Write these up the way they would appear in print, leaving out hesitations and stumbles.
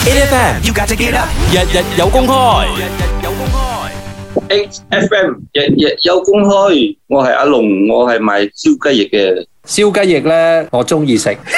8FM you got to get up，日日有公開。 8FM 日有公開，我係阿龍，我係賣燒雞翼嘅。 燒雞翼咧，我中意食。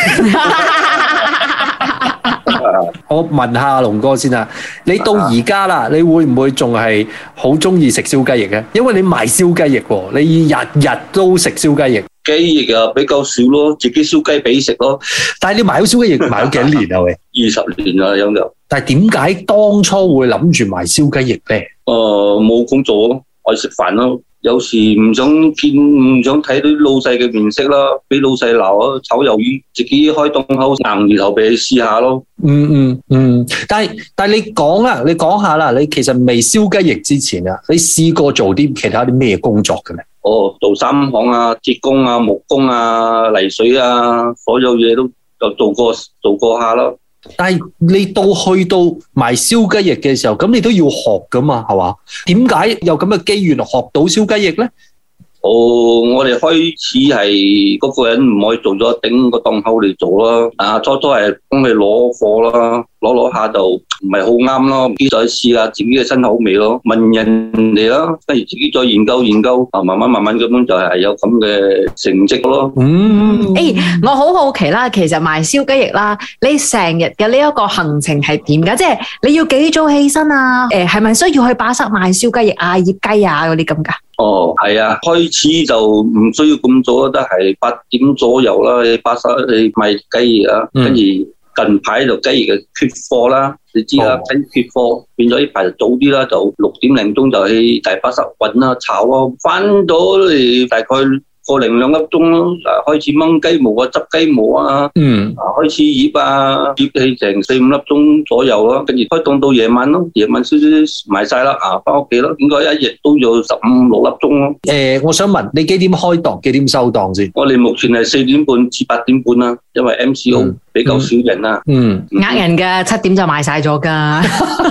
我問下阿龍哥先啊，你到而家啦，你會唔會仲係好中意食燒雞翼嘅？因為你賣燒雞翼喎，你日日都食燒雞翼。 雞翼啊比較少咯，自己燒雞髀食咯。 但係你賣咗燒雞翼賣咗幾多年啊？喂 ，20年啦有就。 但係點解當初會諗住賣燒雞翼咧？ 冇工做咯，愛食飯咯。有時唔想睇到老細嘅面色啦，俾老細鬧啊，炒魷魚，自己開檔口硬住頭皮試下咯。 但係你講下啦，你其實未燒雞翼之前啊，你試過做啲其他啲咩工作嘅咧？ 做三行啊、鐵工啊、木工啊、泥水啊，所有嘢都做過下咯。 但係你去到賣燒雞翼嘅時候，咁你都要學噶嘛，係嘛？點解有咁嘅機緣學到燒雞翼咧？ 我哋開始係嗰個人唔可以做咗，頂個檔口嚟做啦。初係幫佢攞貨啦，攞下就唔係好啱咯，自己再試下自己嘅新口味咯，問人哋啦，跟住自己再研究，慢慢咁樣就係有咁嘅成績咯。 我好好奇啦，其實賣燒雞翼啦，你成日嘅呢一個行程係點㗎？即係你要幾早起身啊？係咪需要去巴剎賣燒雞翼啊、醃雞啊嗰啲咁㗎？ 係啊，開始就唔需要咁早，都係8點左右啦。你巴剎你賣雞翼啊，跟住近排就雞翼嘅缺貨啦，你知啦，雞缺貨變咗呢排就早啲啦，就6點零鐘就去大巴剎搵啦、炒啊，翻到嚟大概1零2粒鐘咯，開始掹雞毛啊、執雞毛啊，開始醃啊，醃起成4、5粒鐘左右咯，跟住開檔到夜晚咯，夜晚少賣晒啦，翻屋企咯，應該一日都要15、16粒鐘咯。 我想問你幾點開檔，幾點收檔先？ 我哋目前係4點半至8點半啦，因為 MCO 比較少人啦。 呃人㗎，7點就賣晒咗㗎。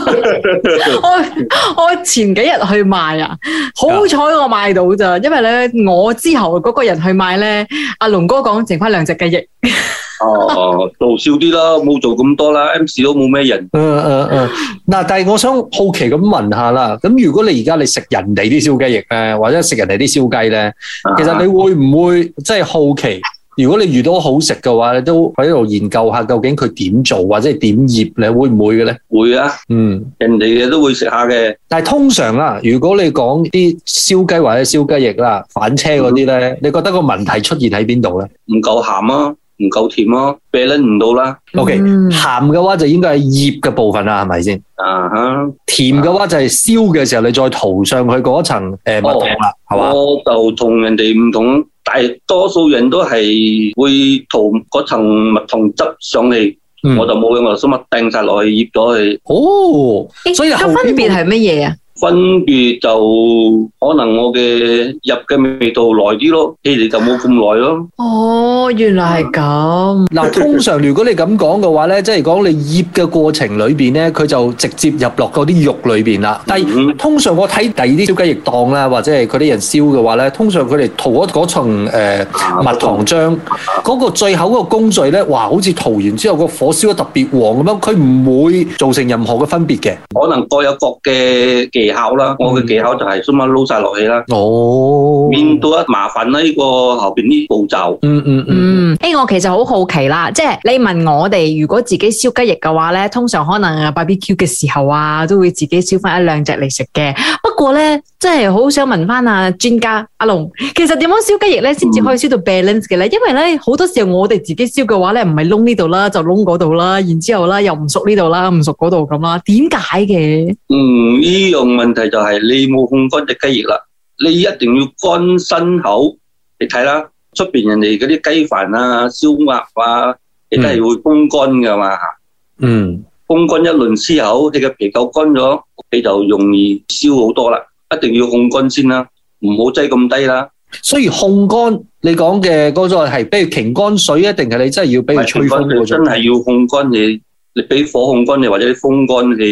我前幾日去賣啊，好彩我賣到咋，因為咧我之後嗰個人去買咧，阿龍哥講剩翻2隻雞翼。 做少啲啦，冇做咁多啦 ，MC 都冇咩人。 嗱，但係我想好奇咁問下啦，咁如果你而家你食人哋啲燒雞翼咧，或者食人哋啲燒雞咧，其實你會唔會即係好奇？如果你遇到好食嘅話，你都喺度研究下究竟佢點做或者係點醃咧，會唔會嘅咧？ 會啊，人哋嘅都會食下嘅。 但係通常啦，如果你講啲燒雞或者燒雞翼啦，反車嗰啲咧，你覺得個問題出現喺邊度咧？ 唔夠鹹啊，唔夠甜啊，balance唔到啦。 OK，鹹嘅話就應該係醃嘅部分啦，係咪先？甜嘅話就係燒嘅時候，你再塗上去嗰層蜜糖啦，係嘛？ 我就同人哋唔同。大多數人都係會塗嗰層蜜糖汁上去，我就冇嘅，我就乜掟晒落去醃咗佢。 所以個分別係乜嘢啊？ 分別就可能我嘅入嘅味道耐啲咯，佢哋就冇咁耐咯。 原來係咁。 嗱，通常如果你咁講嘅話咧，即係講你醃嘅過程裏邊咧，佢就直接入落嗰啲肉裏邊啦。但係通常我睇第二啲燒雞翼檔啦，或者係佢啲人燒嘅話咧，通常佢哋塗嗰層蜜糖漿，嗰個最後嗰個工序咧，哇，好似塗完之後個火燒得特別黃咁樣，佢唔會造成任何嘅分別嘅。 可能各有各嘅技巧啦，我嘅技巧就係咁樣撈晒落去啦。面對麻煩啦，呢個後邊啲步驟。 我其實好好奇啦，即係你問我哋，如果自己燒雞翼嘅話咧，通常可能 BBQ 嘅時候啊，都會自己燒翻1、2隻嚟食嘅。不過咧，真係好想問翻專家阿龍，其實點樣燒雞翼咧，先至可以燒到 balance 嘅咧？因為咧好多時候我哋自己燒嘅話咧，唔係窿呢度啦，就窿嗰度啦，然之後啦又唔熟呢度啦，唔熟嗰度咁啦，點解嘅？ 呢樣問題就係你冇烘乾隻雞翼啦，你一定要乾身口。你睇啦，出邊人哋嗰啲雞飯啊、燒鴨啊，你都係會風乾噶嘛。風乾一輪之後，你嘅皮夠乾咗，你就容易燒好多啦。一定要烘乾先啦，唔好擠咁低啦。 所以烘乾，你講嘅嗰個係比如擎乾水啊，定係你真係要俾佢吹風嗰種？ 真係要烘乾你俾火烘乾你，或者啲風乾你。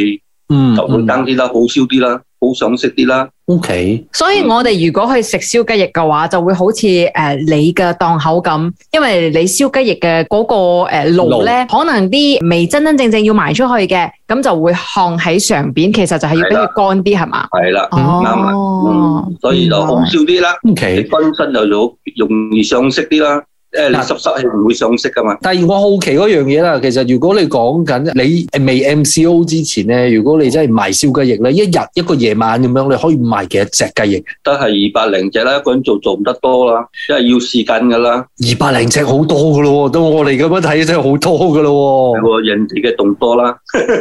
就會爭啲啦，好燒啲啦，好上色啲啦。 OK， 所以我哋如果去食燒雞翼嘅話，就會好似你嘅檔口咁，因為你燒雞翼嘅嗰個爐咧，可能啲未真真正正要賣出去嘅，咁就會烘喺上邊，其實就係要俾佢乾啲，係嘛？ 係啦，啱啦，所以就好燒啲啦。 OK， 乾身就容易上色啲啦。你濕係唔會上色噶嘛？ 但係我好奇嗰樣嘢啦，其實如果你講緊你未 MCO 之前咧，如果你真係賣燒雞翼咧，一日一個夜晚咁樣，你可以賣幾多隻雞翼？ 都係200零隻啦，一個人做唔得多啦，因為要時間噶啦。 200零隻好多噶咯，到我哋咁樣睇真係好多噶咯。 人哋嘅仲多啦。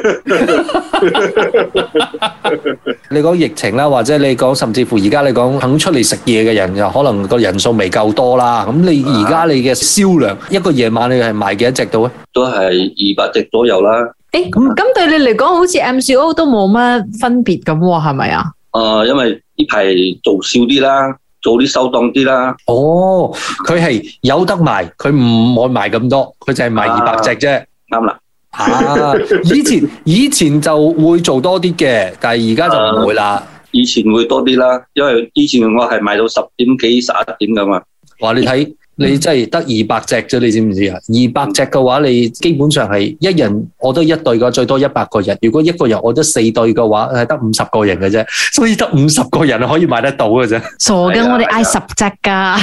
你講疫情啦，或者你講甚至乎而家你講肯出嚟食嘢嘅人，又可能個人數未夠多啦。咁你而家你嘅銷量一個夜晚你係賣幾多隻到咧？ 都係200隻左右啦。 咁對你嚟講，好似 MCO 都冇乜分別咁喎，係咪啊？ 因為呢排做少啲啦，做啲收檔啲啦。 哦，佢係有得賣，佢唔會賣咁多，佢就係賣200隻啫。 啱啦。 以前就會做多啲嘅，但係而家就唔會啦。 以前會多啲啦，因為以前我係賣到10點幾11點噶嘛。 哇！你睇你真係得200隻啫，你知唔知啊？200隻嘅話，你基本上係一人我得1對嘅，最多100個人。如果一個人我得4對嘅話，係得50個人嘅啫，所以得50個人可以買得到嘅啫。 傻嘅，我哋嗌10隻噶。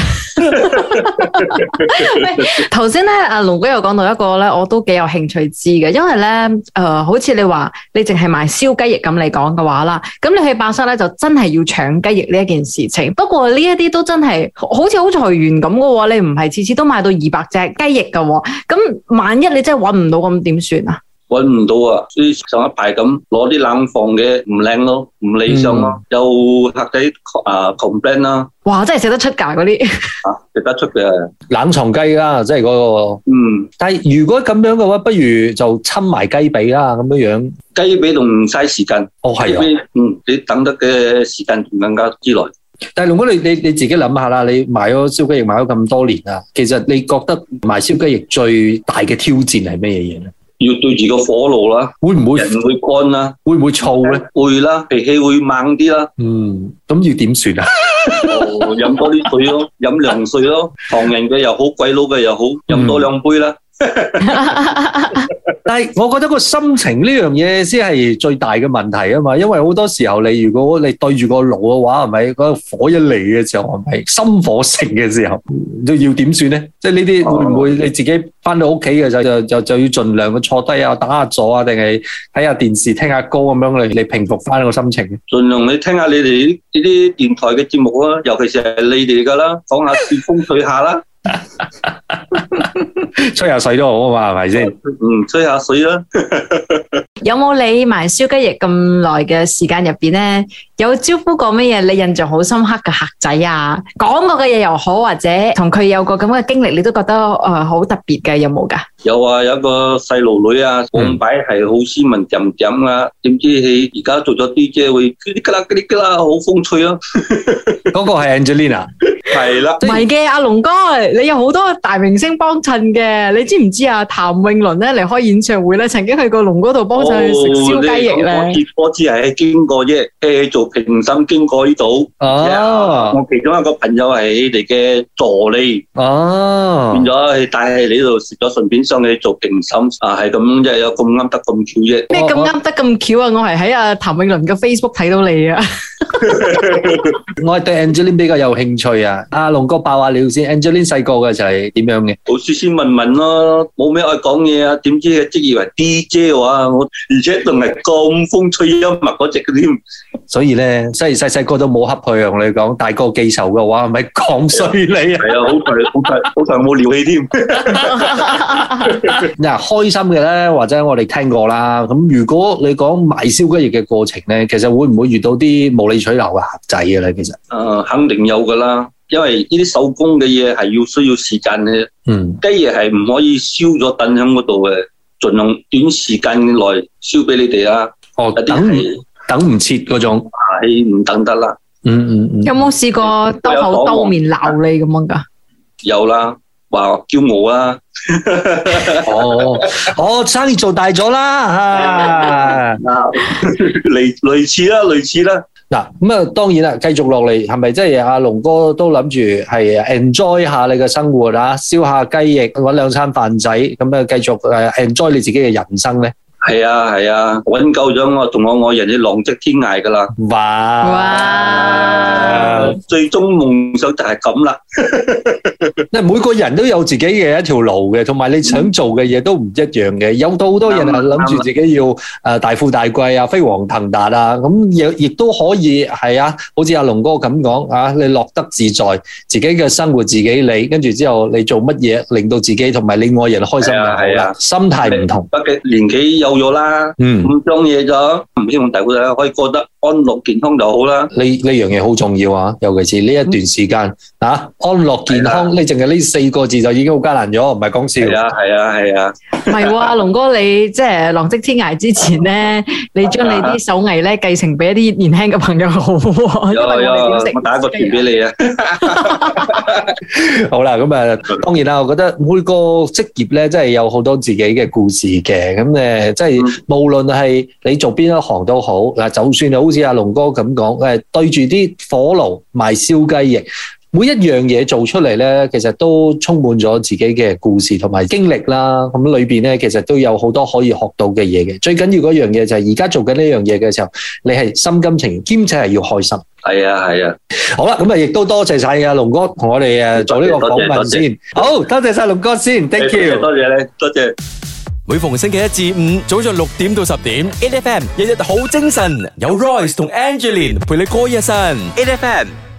頭先咧，阿龍哥又講到一個咧，我都幾有興趣知嘅，因為咧，好似你話你淨係賣燒雞翼咁嚟講嘅話啦，咁你去巴剎咧就真係要搶雞翼呢一件事情。不過呢一啲都真係好似好隨緣咁嘅喎，你唔係次次都買到200隻雞翼嘅喎。咁萬一你真係搵唔到，咁點算啊？ 搵唔到啊！所以上一排咁攞啲冷房嘅唔靚咯，唔理想咯，有客仔complain 啦。 哇！真係食得出㗎嗰啲。 食得出嘅冷藏雞啦，即係嗰個。但係如果咁樣嘅話，不如就侵埋雞髀啦，咁樣樣。 雞髀仲唔嘥時間。 哦，係啊。 你等得嘅時間仲更加之耐。 但係龍哥，你自己諗下啦，你賣咗燒雞翼賣咗咁多年啦，其實你覺得賣燒雞翼最大嘅挑戰係咩嘢咧？ 要對住個火爐啦， 會唔會人會乾啦？ 會唔會燥咧？ 會啦，脾氣會猛啲啦。 咁要點算啊？ 飲多啲水咯，飲涼水咯，唐人嘅又好，鬼佬嘅又好，飲多2杯啦。 但係我覺得個心情呢樣嘢先係最大嘅問題啊嘛，因為好多時候如果你對住個爐嘅話，係咪嗰個火一嚟嘅時候，係咪心火盛嘅時候，都要點算咧？即係呢啲會唔會你自己翻到屋企嘅就要盡量去坐低啊，打下坐啊，定係睇下電視聽下歌咁樣嚟平復翻個心情？盡量你聽下你哋呢啲電台嘅節目啦，尤其是係你哋噶啦，講下風吹下啦。 吹下水都好啊嘛，係咪先？ 吹下水啦。 有冇你賣燒雞翼咁耐嘅時間入邊咧，有招呼過乜嘢你印象好深刻嘅客仔啊？講過嘅嘢又好，或者同佢有個咁嘅經歷，你都覺得好特別嘅，有冇噶？ 有啊，有個細路女啊，講擺係好斯文點點啊，點知佢而家做咗 DJ 會嗰啲㗎啦，好風趣啊！ 嗰個係 Angelina。 係啦， 唔係嘅，阿龍哥，你有好多大明星幫襯嘅，你知唔知啊？譚詠麟咧嚟開演唱會咧，曾經去過龍嗰度幫襯去食燒雞翼咧。 我只係經過啫，做評審經過呢度。我其中一個朋友係你哋嘅助理。變咗帶喺你呢度食咗，順便上去做評審。係咁，即係有咁啱得咁巧啫。 咩咁啱得咁巧啊？我係喺阿譚詠麟嘅 Facebook 睇到你啊。 我係對 Angeline 比較有興趣啊。阿龍哥爆下料先 ，Angeline 細個嘅就係點樣嘅？ 好斯斯文文咯，冇咩愛講嘢啊。點知嘅職業為 DJ 話我，而且仲係咁風趣幽默嗰隻嘅添。所以咧， 細個都冇恰佢啊！我哋講大個記仇嘅話，係咪講衰你啊？ 係啊，好彩冇撩氣添。 嗱，開心嘅咧，或者我哋聽過啦。咁如果你講賣燒雞翼嘅過程咧，其實會唔會遇到啲無理取鬧嘅客仔嘅咧？其實肯定有噶啦。因為呢啲手工嘅嘢係需要時間嘅，雞翼係唔可以燒咗等喺嗰度嘅，盡量短時間內燒俾你哋啦。 等唔切嗰種， 係唔等得啦。 有冇試過兜口兜面鬧你咁樣噶？ 有啦， 話驕傲啦。 生意做大咗啦， 類似啦。 嗱，咁啊，當然啦，繼續落嚟係咪即係阿龍哥都諗住係 enjoy 下你嘅生活啊，燒下雞翼，搵兩餐飯仔，咁啊繼續enjoy你自己嘅人生咧？ 係啊，搵夠咗我同我愛人嘅浪迹天涯噶啦。 哇！ 最終夢想就係咁啦。 每個人都有自己嘅一條路嘅，同埋你想做嘅嘢都唔一樣嘅。有好多人係諗住自己要大富大貴啊，飛黃騰達啊，咁亦都可以係啊，好似阿龍哥咁講啊，你樂得自在，自己嘅生活自己理，跟住之後你做乜嘢令到自己同埋你愛人開心就好啦。心態唔同， 畢竟年紀有咗啦，咁將嘢咗，唔希望大家可以過得安樂健康就好啦。 呢樣嘢好重要啊，尤其是呢一段時間安樂健康，你淨係呢4個字就已經好艱難咗，唔係講笑。 係啊。 唔係喎，龍哥你即係浪迹天涯之前咧，你將你啲手藝咧繼承俾一啲年輕嘅朋友好喎。 有，我打個電俾你啊。 好啦，咁啊，當然啦，我覺得每個職業咧，真係有好多自己嘅故事嘅。咁即係無論係你做邊一行都好，嗱，就算係好似阿龍哥咁講，對住啲火爐賣燒雞翼。每一樣嘢做出嚟咧，其實都充滿咗自己嘅故事同埋經歷啦。咁裏邊咧，其實都有好多可以學到嘅嘢嘅。最緊要嗰樣嘢就係而家做緊呢樣嘢嘅時候，你係心甘情願，兼且係要開心。 係啊。 好啦，咁亦都多謝晒阿龍哥同我哋做呢個訪問先。好，多謝晒龍哥先 ，thank you。 多謝你，多謝。 每逢星期一至五早上6點到10點 ，8FM 日日好精神，有 Royce 同 Angeline 陪你過一晨 ，8FM。